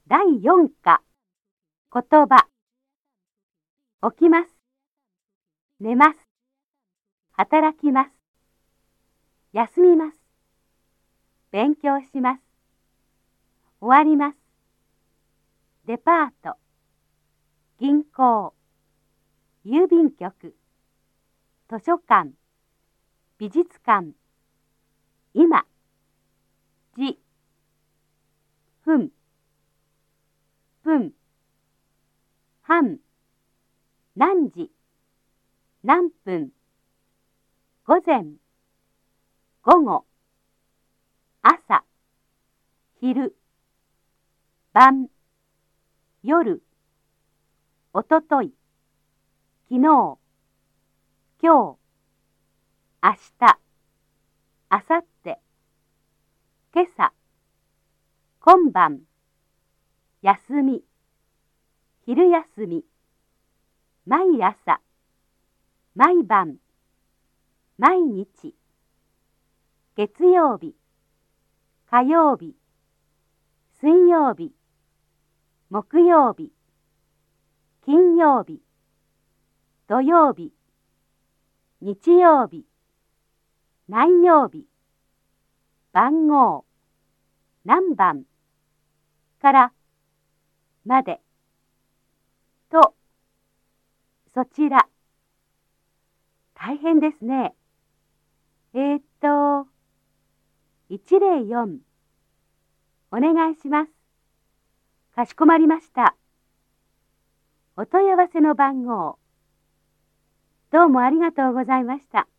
第4課、言葉。起きます。寝ます。働きます。休みます。勉強します。終わります。デパート。銀行。郵便局。図書館。美術館。今。時。分。分。半。何時。何分。午前。午後。朝。昼。晩。夜。おととい。昨日。今日。明日。明後日。今朝。今晩。休み。昼休み。毎朝。毎晩。毎日。月曜日。火曜日。水曜日。木曜日。金曜日。土曜日。日曜日。何曜日。番号。何番。からまで。と、そちら。大変ですね。104。お願いします。かしこまりました。お問い合わせの番号。どうもありがとうございました。